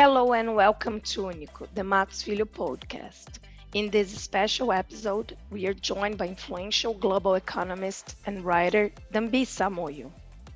Hello and welcome to Único, the Max Filho podcast. In this special episode, we are joined by influential global economist and writer Dambisa Moyo.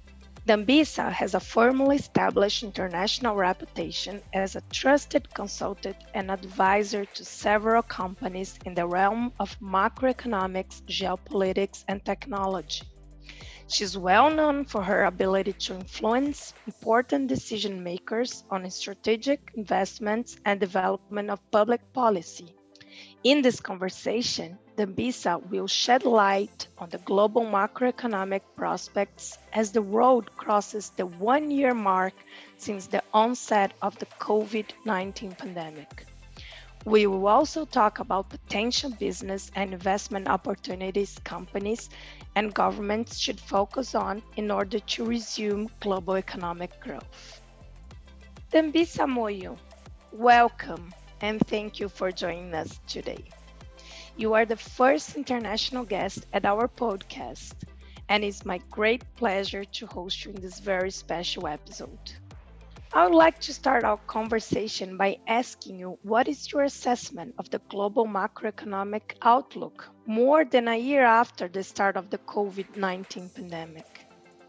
Dambisa has a firmly established international reputation as a trusted consultant and advisor to several companies in the realm of macroeconomics, geopolitics, and technology. She's well known for her ability to influence important decision makers on strategic investments and development of public policy. In this conversation, Dambisa will shed light on the global macroeconomic prospects as the world crosses the one-year mark since the onset of the COVID-19 pandemic. We will also talk about potential business and investment opportunities companies and governments should focus on in order to resume global economic growth. Dambisa Moyo, welcome and thank you for joining us today. You are the first international guest at our podcast, and it's my great pleasure to host you in this very special episode. I would like to start our conversation by asking you what is your assessment of the global macroeconomic outlook more than a year after the start of the COVID-19 pandemic?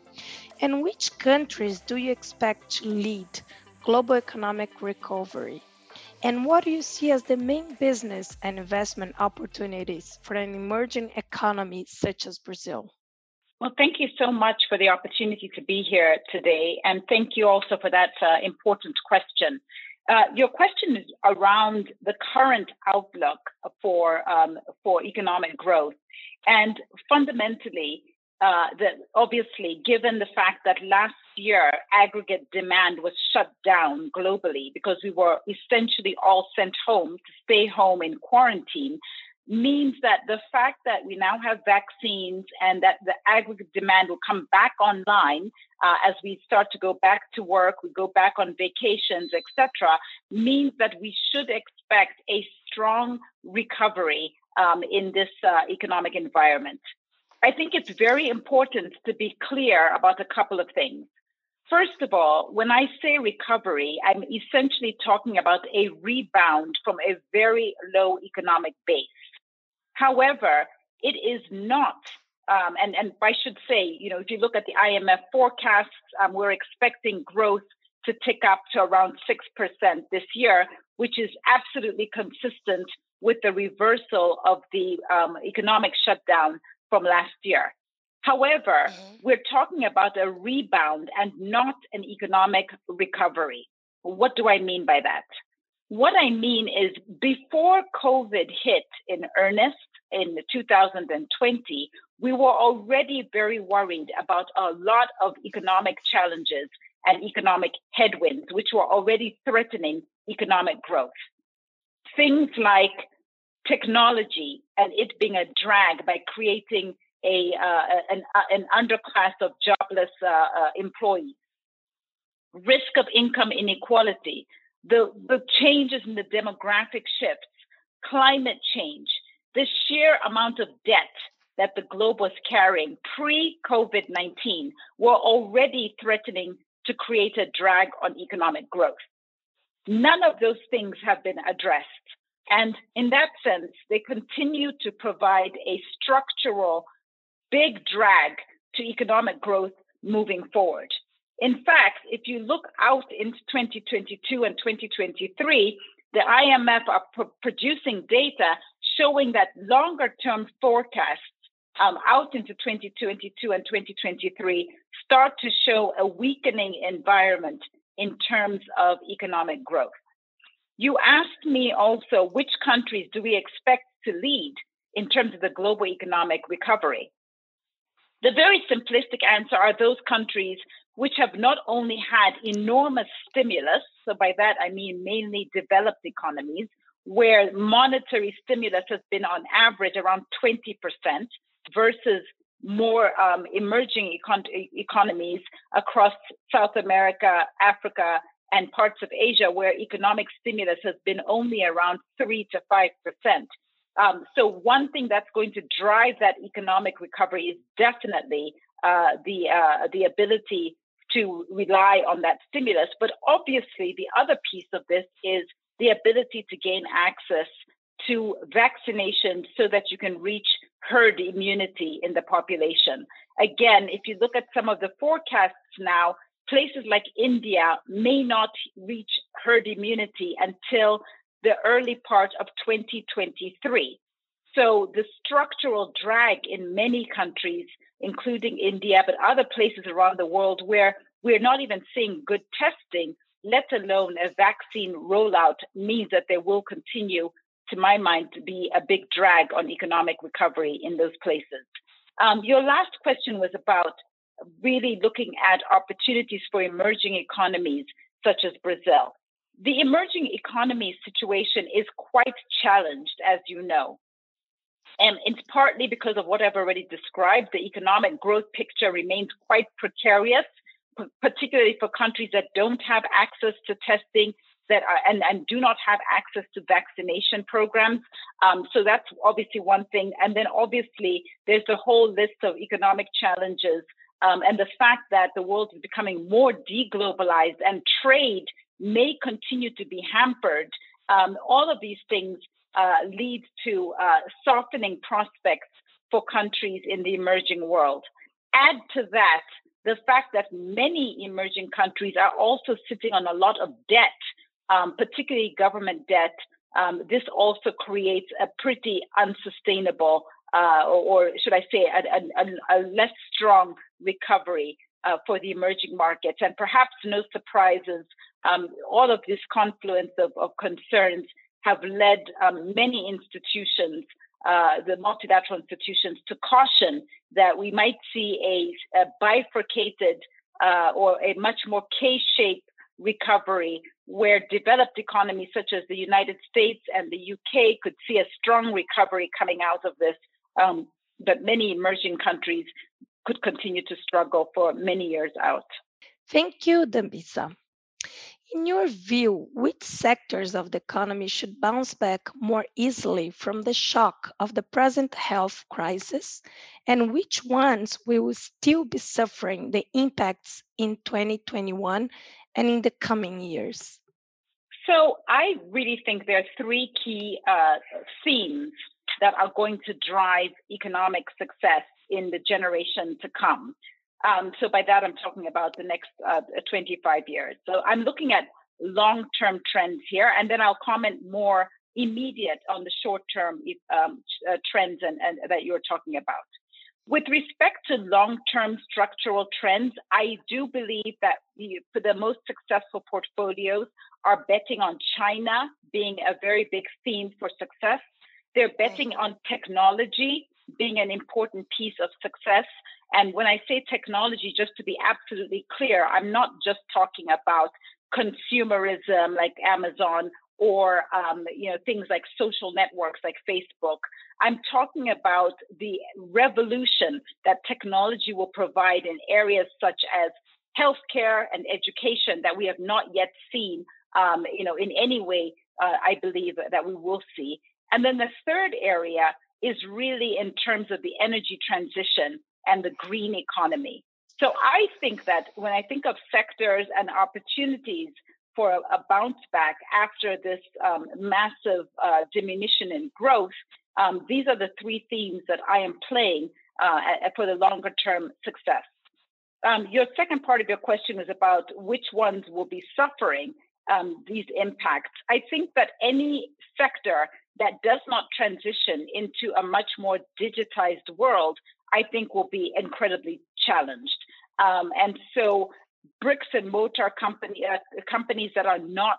And which countries do you expect to lead global economic recovery? And what do you see as the main business and investment opportunities for an emerging economy such as Brazil? Well, thank you so much for the opportunity to be here today. And thank you also for that important question. Your question is around the current outlook for economic growth. And fundamentally, obviously, given the fact that last year aggregate demand was shut down globally because we were essentially all sent home to stay home in quarantine, means that the fact that we now have vaccines and that the aggregate demand will come back online as we start to go back to work, we go back on vacations, etc., means that we should expect a strong recovery in this economic environment. I think it's very important to be clear about a couple of things. First of all, when I say recovery, I'm essentially talking about a rebound from a very low economic base. However, it is not, and I should say, if you look at the IMF forecasts, we're expecting growth to tick up to around 6% this year, which is absolutely consistent with the reversal of the economic shutdown from last year. However, we're talking about a rebound and not an economic recovery. What do I mean by that? What I mean is before COVID hit in earnest in 2020, we were already very worried about a lot of economic challenges and economic headwinds, which were already threatening economic growth. Things like technology and it being a drag by creating an underclass of jobless employees, risk of income inequality, the changes in the demographic shifts, climate change, the sheer amount of debt that the globe was carrying pre-COVID-19 were already threatening to create a drag on economic growth. None of those things have been addressed. And in that sense, they continue to provide a structural big drag to economic growth moving forward. In fact, if you look out into 2022 and 2023, the IMF are producing data showing that longer-term forecasts out into 2022 and 2023 start to show a weakening environment in terms of economic growth. You asked me also which countries do we expect to lead in terms of the global economic recovery. The very simplistic answer are those countries which have not only had enormous stimulus, so by that I mean mainly developed economies, where monetary stimulus has been on average around 20% versus more emerging economies across South America, Africa, and parts of Asia, where economic stimulus has been only around 3 to 5%. So one thing that's going to drive that economic recovery is definitely the ability to rely on that stimulus. But obviously, the other piece of this is the ability to gain access to vaccination so that you can reach herd immunity in the population. Again, if you look at some of the forecasts now, places like India may not reach herd immunity until the early part of 2023. So the structural drag in many countries, including India, but other places around the world where we're not even seeing good testing, let alone a vaccine rollout, means that there will continue, to my mind, to be a big drag on economic recovery in those places. Your last question was about really looking at opportunities for emerging economies, such as Brazil. The emerging economy situation is quite challenged, as you know. And it's partly because of what I've already described. The economic growth picture remains quite precarious, particularly for countries that don't have access to testing and do not have access to vaccination programs. So that's obviously one thing. And then obviously there's a whole list of economic challenges and the fact that the world is becoming more deglobalized and trade may continue to be hampered. All of these things lead to softening prospects for countries in the emerging world. Add to that the fact that many emerging countries are also sitting on a lot of debt, particularly government debt. This also creates a pretty unsustainable, or should I say, a less strong recovery for the emerging markets. And perhaps no surprises, all of this confluence of concerns have led many institutions, the multilateral institutions, to caution that we might see a bifurcated or a much more K-shaped recovery where developed economies such as the United States and the UK could see a strong recovery coming out of this, but many emerging countries could continue to struggle for many years out. Thank you, Dambisa. In your view, which sectors of the economy should bounce back more easily from the shock of the present health crisis, and which ones will still be suffering the impacts in 2021 and in the coming years? So I really think there are three key themes that are going to drive economic success in the generation to come. So by that, I'm talking about the next 25 years. So I'm looking at long-term trends here, and then I'll comment more immediate on the short-term trends and that you're talking about. With respect to long-term structural trends, I do believe that for the most successful portfolios are betting on China being a very big theme for success. They're betting on technology being an important piece of success. And when I say technology, just to be absolutely clear, I'm not just talking about consumerism like Amazon or things like social networks like Facebook. I'm talking about the revolution that technology will provide in areas such as healthcare and education that we have not yet seen, in any way, I believe that we will see. And then the third area is really in terms of the energy transition and the green economy. So I think that when I think of sectors and opportunities for a bounce back after this massive diminution in growth, these are the three themes that I am playing for the longer term success. Your second part of your question was about which ones will be suffering these impacts. I think that any sector that does not transition into a much more digitized world, I think will be incredibly challenged. And so bricks and mortar companies that are not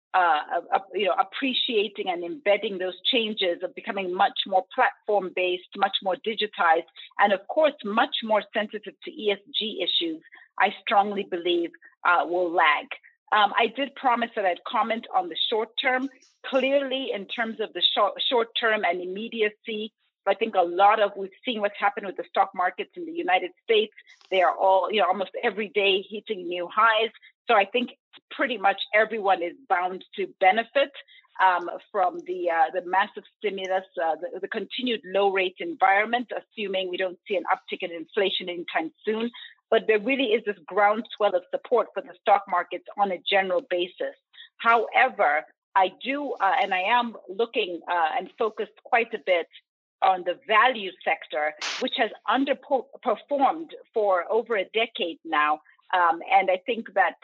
appreciating and embedding those changes of becoming much more platform-based, much more digitized, and of course, much more sensitive to ESG issues, I strongly believe will lag. I did promise that I'd comment on the short term. Clearly, in terms of the short term and immediacy, I think we've seen what's happened with the stock markets in the United States. They are all, almost every day hitting new highs. So I think pretty much everyone is bound to benefit from the massive stimulus, the continued low rate environment, assuming we don't see an uptick in inflation anytime soon. but there really is this groundswell of support for the stock markets on a general basis. However, I do, and I am looking and focused quite a bit on the value sector, which has underperformed for over a decade now. And I think that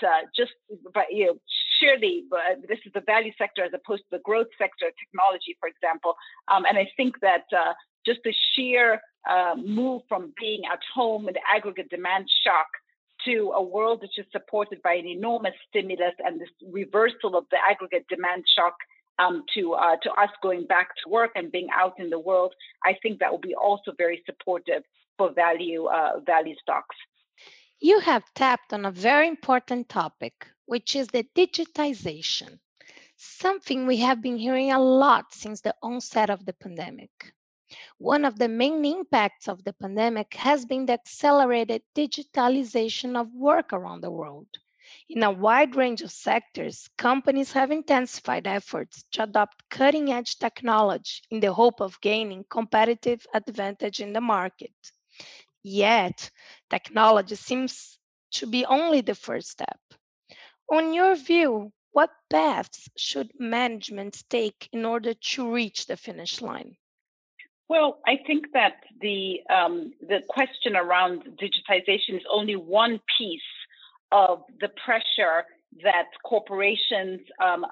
surely this is the value sector as opposed to the growth sector, technology, for example. And I think that just the sheer move from being at home and aggregate demand shock to a world which is supported by an enormous stimulus and this reversal of the aggregate demand shock to us going back to work and being out in the world, I think that will be also very supportive for value stocks. You have tapped on a very important topic, which is the digitization, something we have been hearing a lot since the onset of the pandemic. One of the main impacts of the pandemic has been the accelerated digitalization of work around the world. In a wide range of sectors, companies have intensified efforts to adopt cutting-edge technology in the hope of gaining competitive advantage in the market. Yet, technology seems to be only the first step. On your view, what paths should management take in order to reach the finish line? Well, I think that the question around digitization is only one piece of the pressure that corporations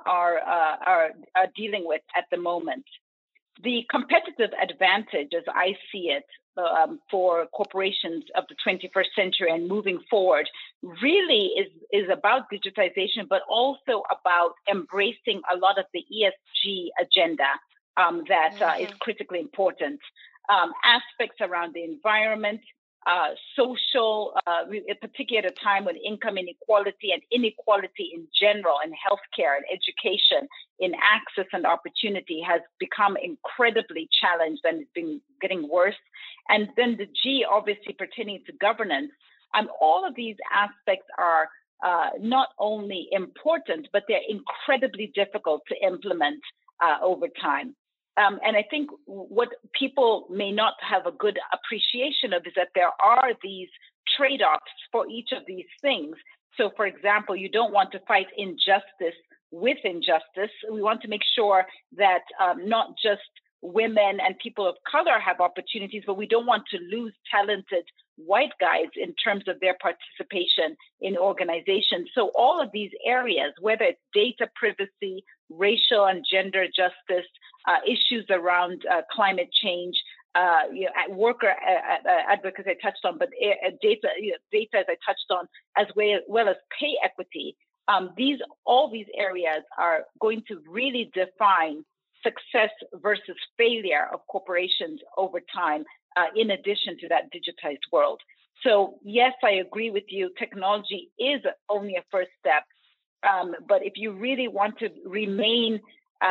are dealing with at the moment. The competitive advantage, as I see it, for corporations of the 21st century and moving forward really is about digitization, but also about embracing a lot of the ESG agenda that is critically important. Aspects around the environment, social, particularly at a time when income inequality and inequality in general in healthcare and education, in access and opportunity has become incredibly challenged and it's been getting worse. And then the G, obviously pertaining to governance. All of these aspects are not only important, but they're incredibly difficult to implement over time. And I think what people may not have a good appreciation of is that there are these trade-offs for each of these things. So, for example, you don't want to fight injustice with injustice. We want to make sure that not just women and people of color have opportunities, but we don't want to lose talented white guys in terms of their participation in organizations. So all of these areas, whether it's data privacy, racial and gender justice, issues around climate change, worker advocacy I touched on, but data as I touched on, as well as pay equity. All these areas are going to really define success versus failure of corporations over time, in addition to that digitized world. So yes, I agree with you. Technology is only a first step. But if you really want to remain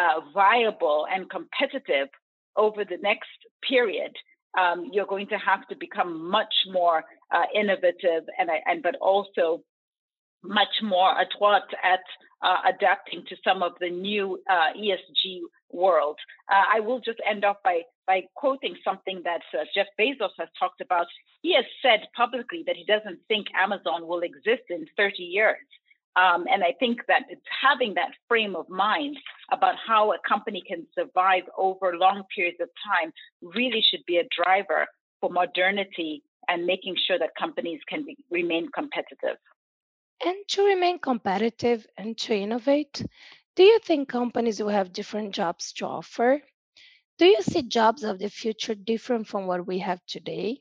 viable and competitive over the next period, you're going to have to become much more innovative but also much more adroit at adapting to some of the new ESG world. I will just end off by quoting something that Jeff Bezos has talked about. He has said publicly that he doesn't think Amazon will exist in 30 years. And I think that it's having that frame of mind about how a company can survive over long periods of time really should be a driver for modernity and making sure that companies can remain competitive. And to remain competitive and to innovate, do you think companies will have different jobs to offer? Do you see jobs of the future different from what we have today?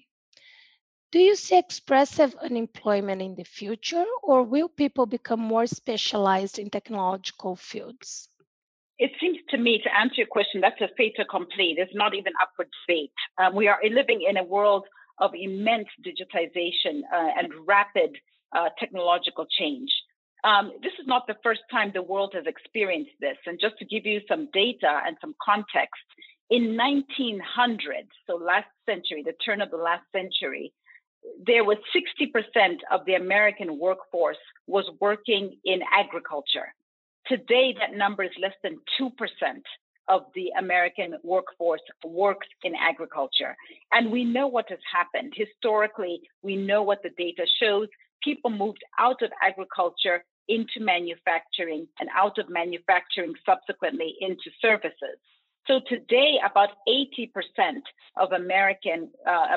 Do you see expressive unemployment in the future, or will people become more specialized in technological fields? It seems to me, to answer your question, that's a fait accompli. There's not even up for debate. We are living in a world of immense digitization and rapid technological change. This is not the first time the world has experienced this. And just to give you some data and some context, in 1900, so last century, the turn of the last century, there was 60% of the American workforce was working in agriculture. Today, that number is less than 2%. of the American workforce works in agriculture. And we know what has happened. Historically, we know what the data shows. People moved out of agriculture into manufacturing and out of manufacturing subsequently into services. So today, about 80% of Americans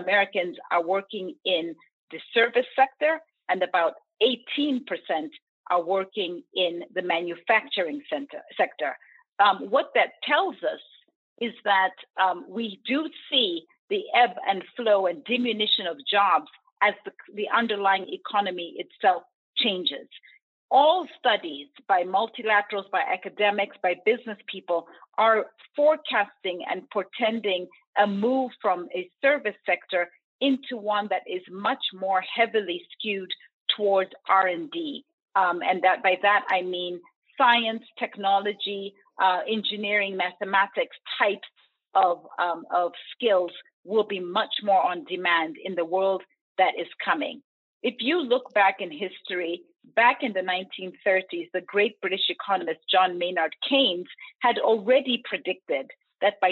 are working in the service sector, and about 18% are working in the manufacturing sector. What that tells us is that we do see the ebb and flow and diminution of jobs as the underlying economy itself changes. All studies by multilaterals, by academics, by business people are forecasting and portending a move from a service sector into one that is much more heavily skewed towards R&D. And that by that, I mean science, technology, engineering, mathematics types of skills will be much more on demand in the world that is coming. If you look back in history, back in the 1930s, the great British economist John Maynard Keynes had already predicted that by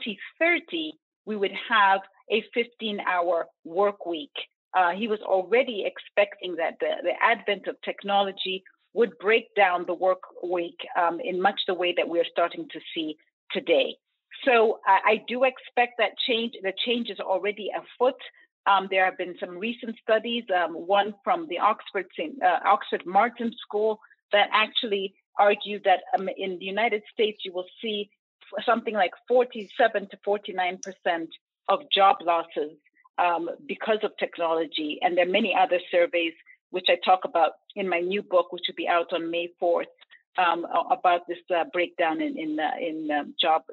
2030, we would have a 15-hour work week. He was already expecting that the advent of technology would break down the work week in much the way that we're starting to see today. So I do expect that change. The change is already afoot. There have been some recent studies, one from the Oxford Martin School, that actually argued that in the United States, you will see something like 47 to 49% of job losses because of technology. And there are many other surveys, which I talk about in my new book, which will be out on May 4th, about this breakdown in jobs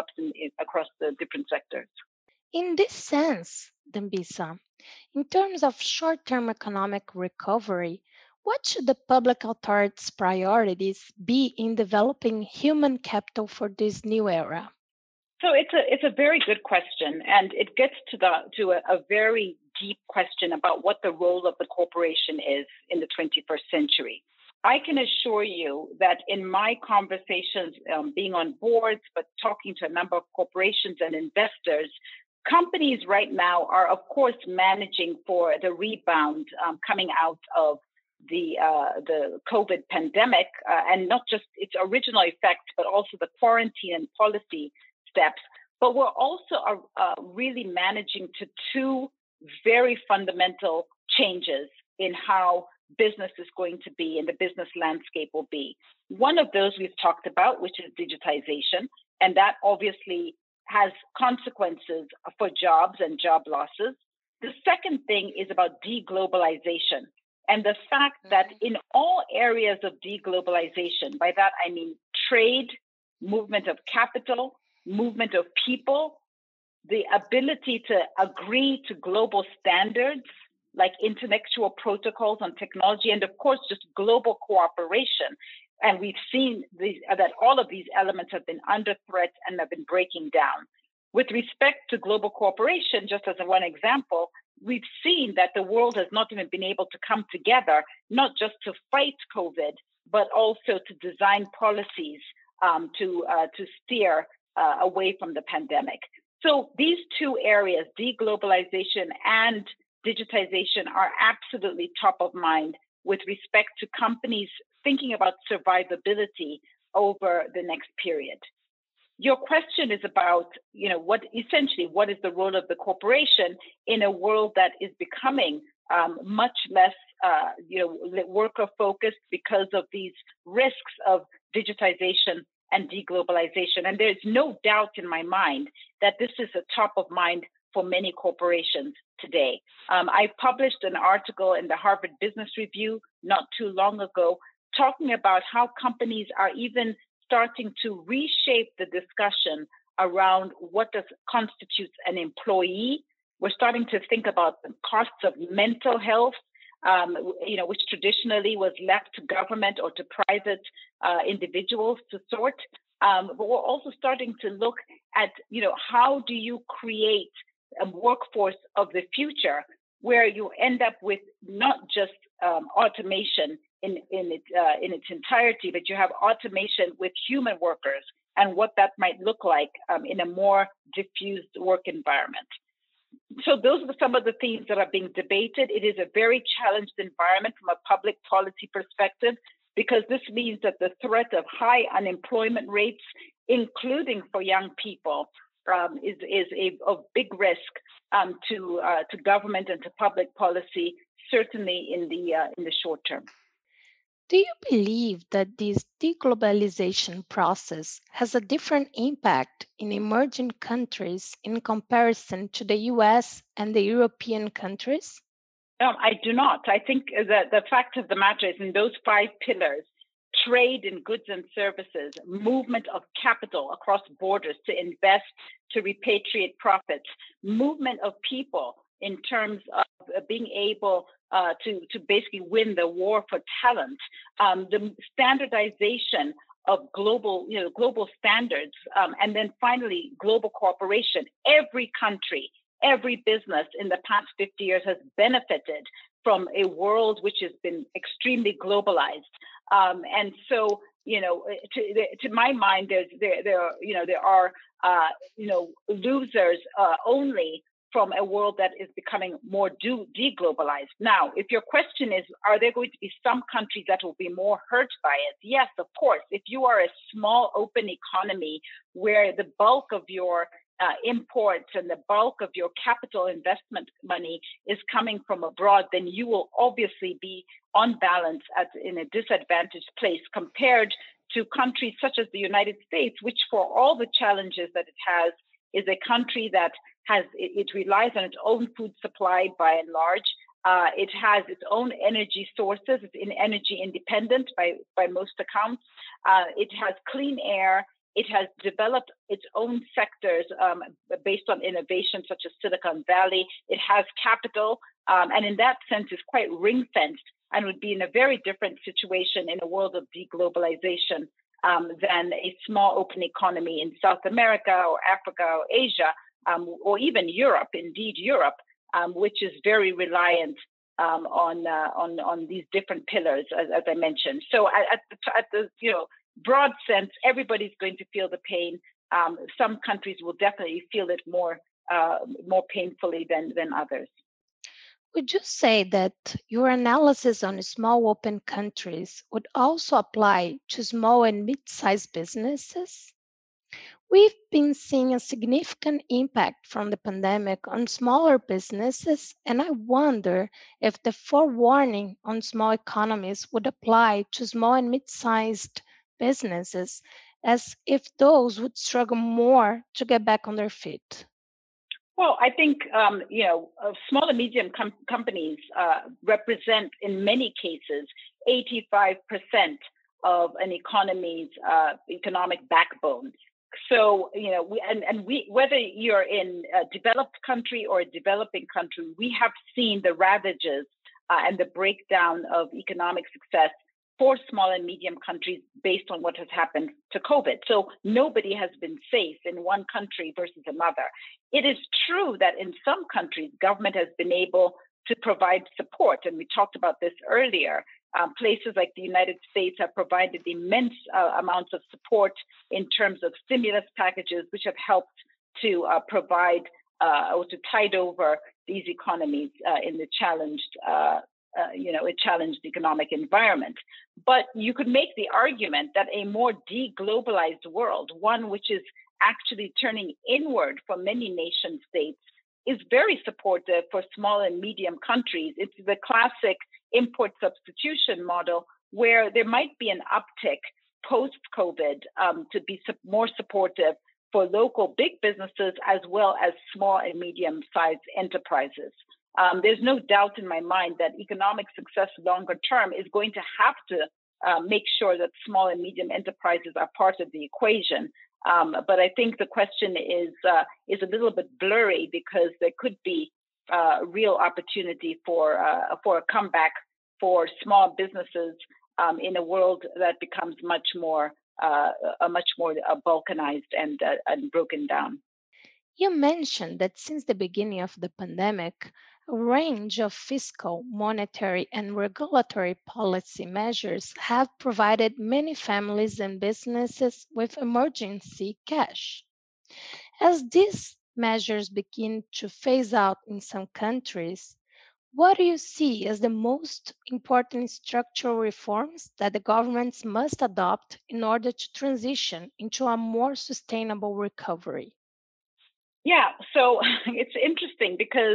across the different sectors. In this sense, Dambisa, in terms of short-term economic recovery, what should the public authorities' priorities be in developing human capital for this new era? So it's a very good question, and it gets to a very deep question about what the role of the corporation is in the 21st century. I can assure you that in my conversations, being on boards, but talking to a number of corporations and investors, companies right now are, of course, managing for the rebound coming out of the COVID pandemic, and not just its original effects, but also the quarantine and policy steps. But we're also really managing to two very fundamental changes in how business is going to be and the business landscape will be. One of those we've talked about, which is digitization, and that obviously has consequences for jobs and job losses. The second thing is about deglobalization, and the fact that in all areas of deglobalization, by that I mean trade, movement of capital, movement of people, the ability to agree to global standards like intellectual protocols on technology, and of course, just global cooperation. And we've seen that all of these elements have been under threat and have been breaking down. With respect to global cooperation, just as one example, we've seen that the world has not even been able to come together, not just to fight COVID, but also to design policies to steer away from the pandemic. So these two areas, deglobalization and digitization, are absolutely top of mind with respect to companies thinking about survivability over the next period. Your question is about, what is the role of the corporation in a world that is becoming much less, worker focused because of these risks of digitization and deglobalization. And there's no doubt in my mind that this is a top of mind for many corporations today. I published an article in the Harvard Business Review not too long ago talking about how companies are even starting to reshape the discussion around what constitutes an employee. We're starting to think about the costs of mental health, which traditionally was left to government or to private individuals to sort. But we're also starting to look at, how do you create a workforce of the future where you end up with not just automation in its entirety, but you have automation with human workers and what that might look like in a more diffused work environment. So those are some of the themes that are being debated. It is a very challenged environment from a public policy perspective, because this means that the threat of high unemployment rates, including for young people, is a big risk to government and to public policy, certainly in the short term. Do you believe that this deglobalization process has a different impact in emerging countries in comparison to the US and the European countries? I do not. I think that the fact of the matter is, in those 5 pillars, trade in goods and services, movement of capital across borders to invest, to repatriate profits, movement of people in terms of being able to basically win the war for talent, the standardization of global standards, and then finally global cooperation. Every country, every business in the past 50 years has benefited from a world which has been extremely globalized. And so, to my mind, there are losers only from a world that is becoming more deglobalized. Now, if your question is, are there going to be some countries that will be more hurt by it? Yes, of course. If you are a small open economy where the bulk of your imports and the bulk of your capital investment money is coming from abroad, then you will obviously be on balance in a disadvantaged place compared to countries such as the United States, which, for all the challenges that it has, is a country that it relies on its own food supply by and large. It has its own energy sources. It's energy independent by most accounts. It has clean air. It has developed its own sectors based on innovation, such as Silicon Valley. It has capital, and in that sense is quite ring-fenced and would be in a very different situation in a world of deglobalization than a small open economy in South America or Africa or Asia, or even Europe, indeed Europe, which is very reliant on these different pillars, as I mentioned. So at the broad sense, everybody's going to feel the pain. Some countries will definitely feel it more painfully than others. Would you say that your analysis on small open countries would also apply to small and mid-sized businesses? We've been seeing a significant impact from the pandemic on smaller businesses, and I wonder if the forewarning on small economies would apply to small and mid-sized businesses, as if those would struggle more to get back on their feet. Well, I think small and medium companies represent, in many cases, 85% of an economy's economic backbone. So, whether you're in a developed country or a developing country, we have seen the ravages and the breakdown of economic success for small and medium countries based on what has happened to COVID. So nobody has been safe in one country versus another. It is true that in some countries, government has been able to provide support, and we talked about this earlier. Places like the United States have provided immense amounts of support in terms of stimulus packages, which have helped to provide or to tide over these economies in the a challenged economic environment. But you could make the argument that a more deglobalized world, one which is actually turning inward for many nation states, is very supportive for small and medium countries. It's the classic import substitution model where there might be an uptick post-COVID to be more supportive for local big businesses as well as small and medium-sized enterprises. There's no doubt in my mind that economic success longer term is going to have to make sure that small and medium enterprises are part of the equation. But I think the question is a little bit blurry because there could be real opportunity for a comeback for small businesses in a world that becomes much more balkanized and broken down. You mentioned that since the beginning of the pandemic, a range of fiscal, monetary, and regulatory policy measures have provided many families and businesses with emergency cash. As these measures begin to phase out in some countries, what do you see as the most important structural reforms that the governments must adopt in order to transition into a more sustainable recovery? Yeah, so it's interesting because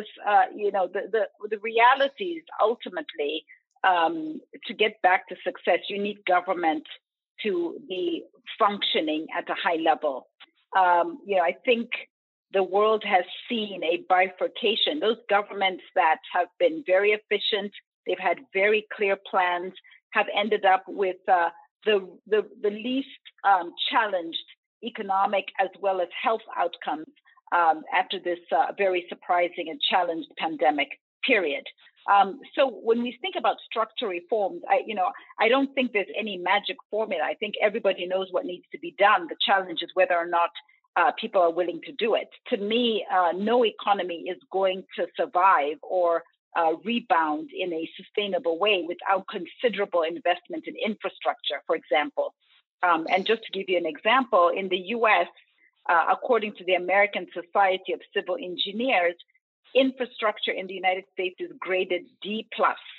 the reality is ultimately to get back to success, you need government to be functioning at a high level. I think the world has seen a bifurcation. Those governments that have been very efficient, they've had very clear plans, have ended up with the least challenged economic as well as health outcomes after this very surprising and challenged pandemic period. So when we think about structural reforms, I don't think there's any magic formula. I think everybody knows what needs to be done. The challenge is whether or not people are willing to do it. To me, no economy is going to survive or rebound in a sustainable way without considerable investment in infrastructure, for example. And just to give you an example, in the US, according to the American Society of Civil Engineers, infrastructure in the United States is graded D+.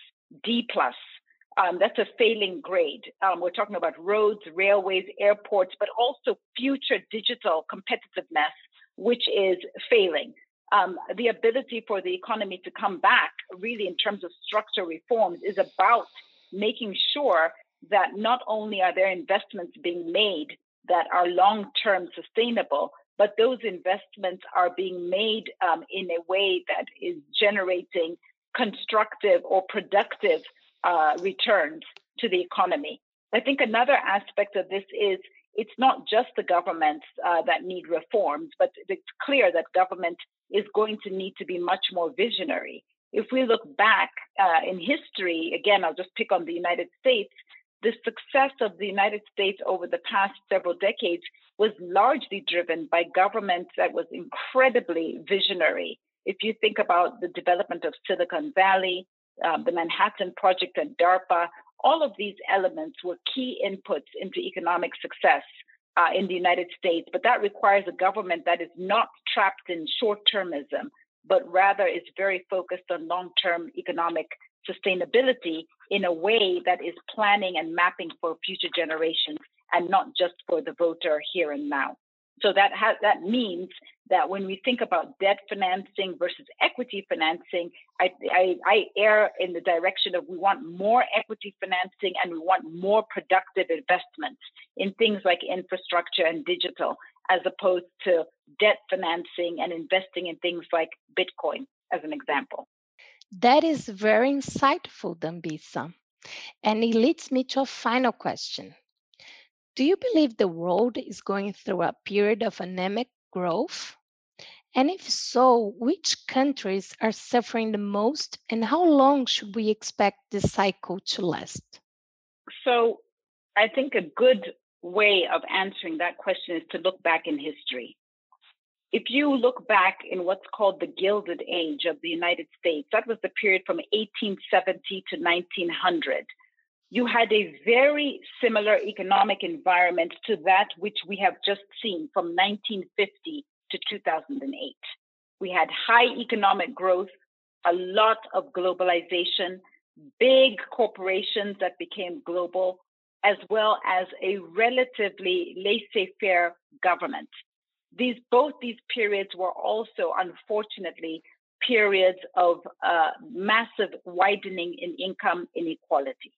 That's a failing grade. We're talking about roads, railways, airports, but also future digital competitiveness, which is failing. The ability for the economy to come back, really in terms of structural reforms, is about making sure that not only are there investments being made that are long-term sustainable, but those investments are being made in a way that is generating constructive or productive returns to the economy. I think another aspect of this is it's not just the governments that need reforms, but it's clear that government is going to need to be much more visionary. If we look back in history, again, I'll just pick on the United States, the success of the United States over the past several decades was largely driven by governments that was incredibly visionary. If you think about the development of Silicon Valley, the Manhattan Project and DARPA, all of these elements were key inputs into economic success in the United States. But that requires a government that is not trapped in short-termism, but rather is very focused on long-term economic sustainability in a way that is planning and mapping for future generations and not just for the voter here and now. So that means that when we think about debt financing versus equity financing, I err in the direction of we want more equity financing and we want more productive investments in things like infrastructure and digital, as opposed to debt financing and investing in things like Bitcoin, as an example. That is very insightful, Dambisa. And it leads me to a final question. Do you believe the world is going through a period of anemic growth? And if so, which countries are suffering the most, and how long should we expect this cycle to last? So I think a good way of answering that question is to look back in history. If you look back in what's called the Gilded Age of the United States, that was the period from 1870 to 1900. You had a very similar economic environment to that which we have just seen from 1950 to 2008. We had high economic growth, a lot of globalization, big corporations that became global, as well as a relatively laissez-faire government. Both these periods were also, unfortunately, periods of massive widening in income inequality.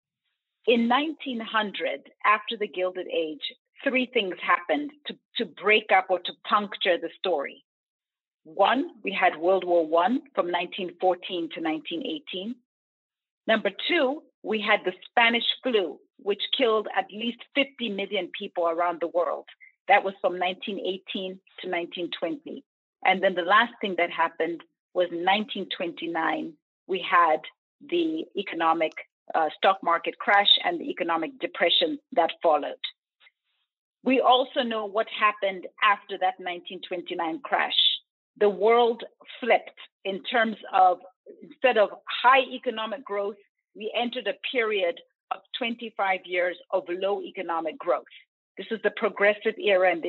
In 1900, after the Gilded Age, three things happened to break up or to puncture the story. One, we had World War I from 1914 to 1918. Number two, we had the Spanish flu, which killed at least 50 million people around the world. That was from 1918 to 1920. And then the last thing that happened was in 1929, we had the economic stock market crash and the economic depression that followed. We also know what happened after that 1929 crash. The world flipped in terms of instead of high economic growth, we entered a period of 25 years of low economic growth. This is the progressive era in the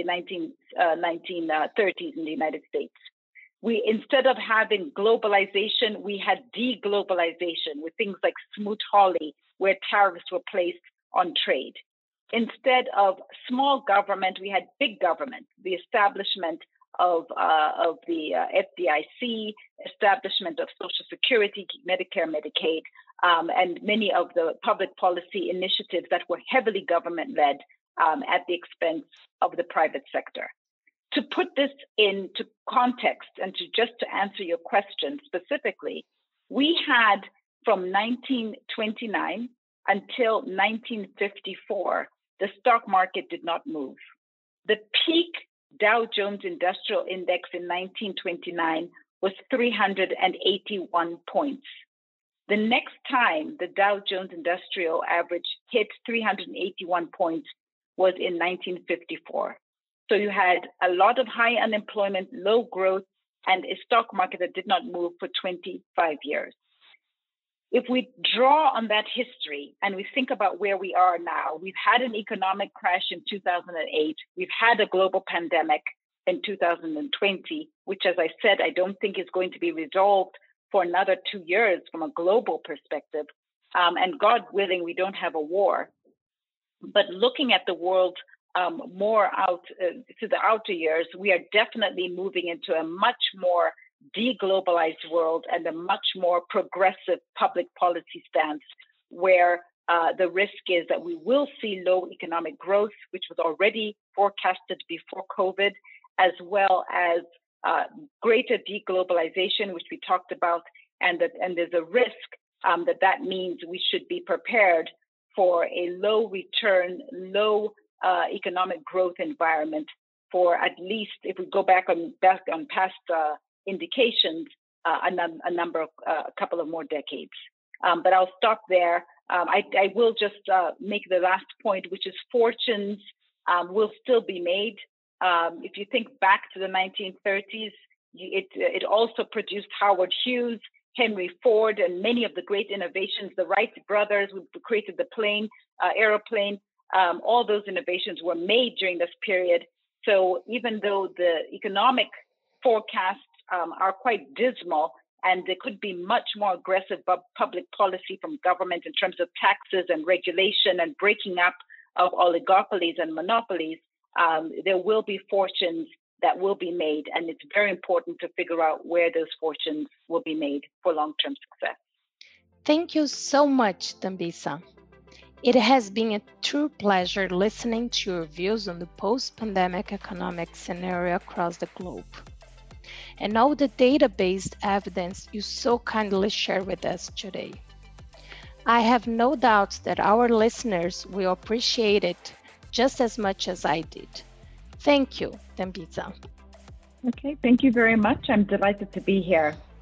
1930s in the United States. Instead of having globalization, we had deglobalization with things like Smoot-Hawley, where tariffs were placed on trade. Instead of small government, we had big government, the establishment of the FDIC, establishment of Social Security, Medicare, Medicaid, and many of the public policy initiatives that were heavily government-led at the expense of the private sector. To put this into context and to answer your question specifically, we had from 1929 until 1954, the stock market did not move. The peak Dow Jones Industrial Index in 1929 was 381 points. The next time the Dow Jones Industrial Average hit 381 points was in 1954. So you had a lot of high unemployment, low growth, and a stock market that did not move for 25 years. If we draw on that history and we think about where we are now, we've had an economic crash in 2008. We've had a global pandemic in 2020, which, as I said, I don't think is going to be resolved for another 2 years from a global perspective. And God willing, we don't have a war. But looking at the world more out to the outer years, we are definitely moving into a much more deglobalized world and a much more progressive public policy stance where the risk is that we will see low economic growth, which was already forecasted before COVID, as well as greater deglobalization, which we talked about, and there's a risk that means we should be prepared for a low return, low economic growth environment for at least, if we go back on past indications, a couple of more decades. But I'll stop there. I will just make the last point, which is fortunes will still be made. If you think back to the 1930s, it also produced Howard Hughes, Henry Ford, and many of the great innovations. The Wright brothers who created the plane, aeroplane. All those innovations were made during this period. So even though the economic forecasts are quite dismal, and there could be much more aggressive public policy from government in terms of taxes and regulation and breaking up of oligopolies and monopolies, there will be fortunes that will be made. And it's very important to figure out where those fortunes will be made for long-term success. Thank you so much, Dambisa. It has been a true pleasure listening to your views on the post-pandemic economic scenario across the globe, and all the data-based evidence you so kindly share with us today. I have no doubt that our listeners will appreciate it just as much as I did. Thank you, Dambisa. Okay, thank you very much. I'm delighted to be here.